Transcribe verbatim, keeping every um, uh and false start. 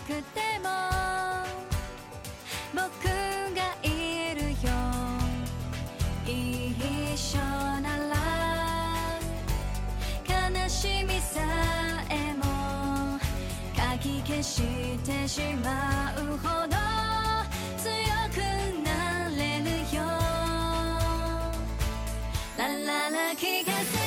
くても僕がいるよ、一緒なら悲しみさえもかき消してしまうほど強くなれるよ。ラララ気がする